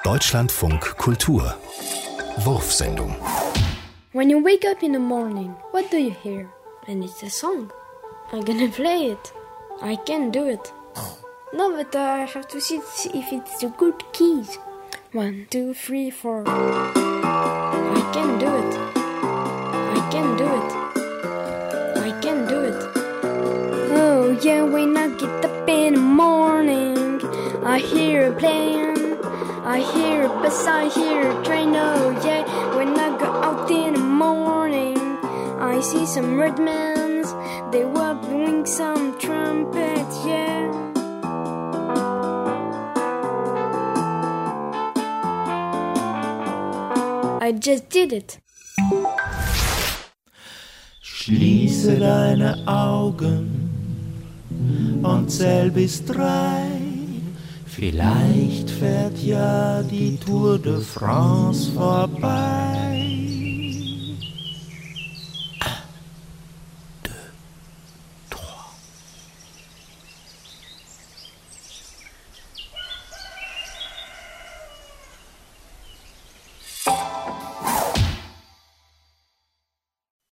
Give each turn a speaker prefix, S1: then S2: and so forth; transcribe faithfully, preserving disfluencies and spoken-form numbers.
S1: Deutschlandfunk Kultur Wurfsendung.
S2: When you wake up in the morning, what do you hear? And it's a song. I'm gonna play it. I can do it. No, but uh, I have to see if it's the good keys. One, two, three, four. I can do it. I can do it. I can do it. Oh yeah, when I get up in the morning, I hear a plane. I hear a bus, I hear a train, oh yeah. When I go out in the morning, I see some red men. They were blowing some trumpets, yeah. I just did it.
S3: Schließe deine Augen und zähl bis drei. Vielleicht fährt ja die Tour de France vorbei.